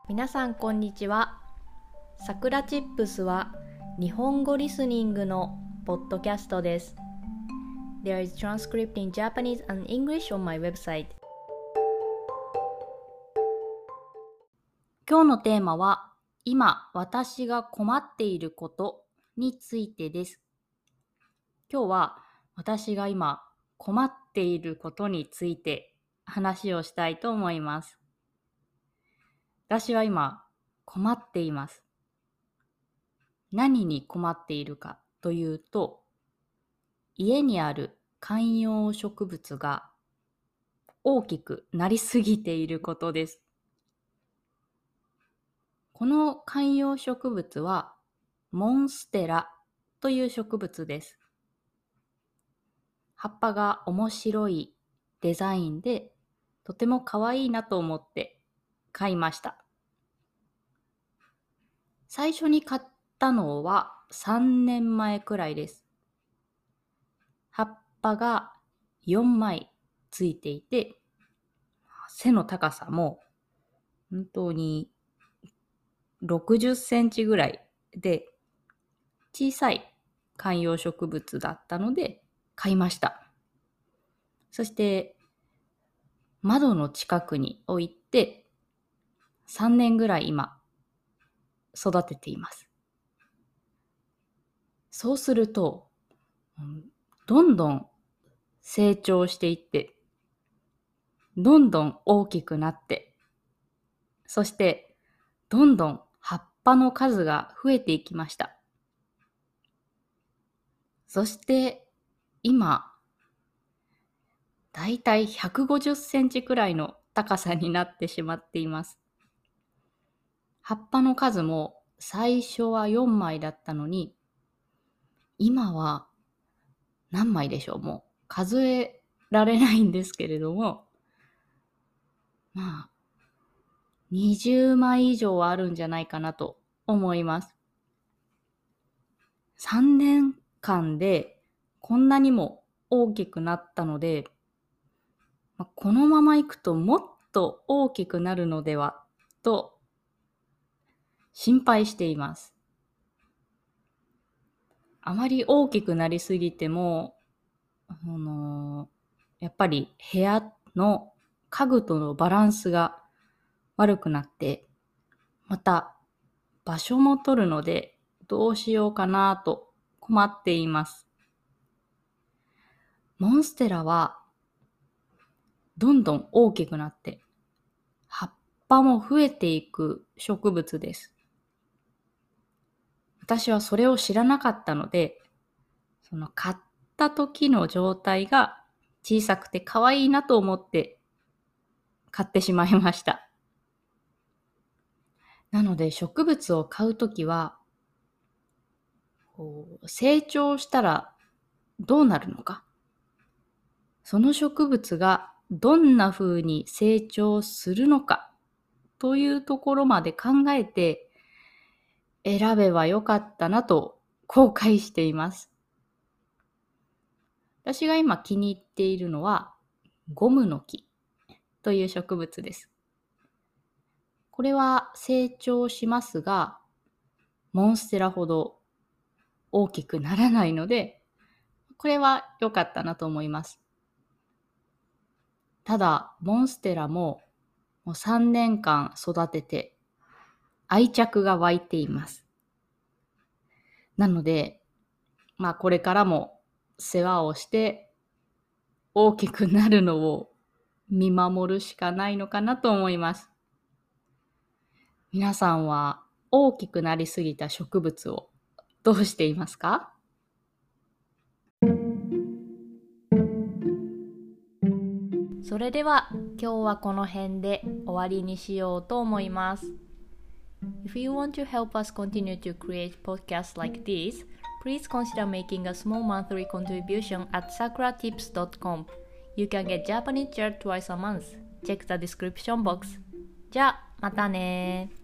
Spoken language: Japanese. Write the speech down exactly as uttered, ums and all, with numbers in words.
皆さんこんにちは。さくらチップスは日本語リスニングのポッドキャストです。There is transcript in Japanese and English on my website. 今日のテーマは今私が困っていることについてです。今日は私が今困っていることについて話をしたいと思います。私は今困っています。何に困っているかというと、家にある観葉植物が大きくなりすぎていることです。この観葉植物はモンステラという植物です。葉っぱが面白いデザインでとても可愛いなと思って買いました。最初に買ったのはさんねんまえくらいです。葉っぱがよんまいついていて、背の高さも本当にろくじゅっセンチぐらいで小さい観葉植物だったので買いました。そして窓の近くに置いてさんねんぐらい今育てています。そうするとどんどん成長していってどんどん大きくなってそしてどんどん葉っぱの数が増えていきました。そして今だいたいひゃくごじゅっセンチくらいの高さになってしまっています。葉っぱの数も最初はよんまいだったのに今は何枚でしょう、もう数えられないんですけれども、まあにじゅうまい以上はあるんじゃないかなと思います。さんねんかんでこんなにも大きくなったので、このままいくともっと大きくなるのではと心配しています。あまり大きくなりすぎても、あのやっぱり部屋の家具とのバランスが悪くなって、また場所も取るのでどうしようかなと困っています。モンステラはどんどん大きくなって葉っぱも増えていく植物です。私はそれを知らなかったので、その買った時の状態が小さくて可愛いなと思って買ってしまいました。なので植物を買うときは、こう成長したらどうなるのか、その植物がどんな風に成長するのかというところまで考えて選べばよかったなと後悔しています。私が今気に入っているのはゴムの木という植物です。これは成長しますが、モンステラほど大きくならないので、これは良かったなと思います。ただ、モンステラももうさんねんかん育てて愛着が湧いています。なので、まあこれからも世話をして大きくなるのを見守るしかないのかなと思います。皆さんは大きくなりすぎた植物をどうしていますか？それでは今日はこの辺で終わりにしようと思います。If you want to help us continue to create podcasts like this, please consider making a small monthly contribution at sakura tips dot com. You can get Japanese chat twice a month. Check the description box. じゃあ、またね。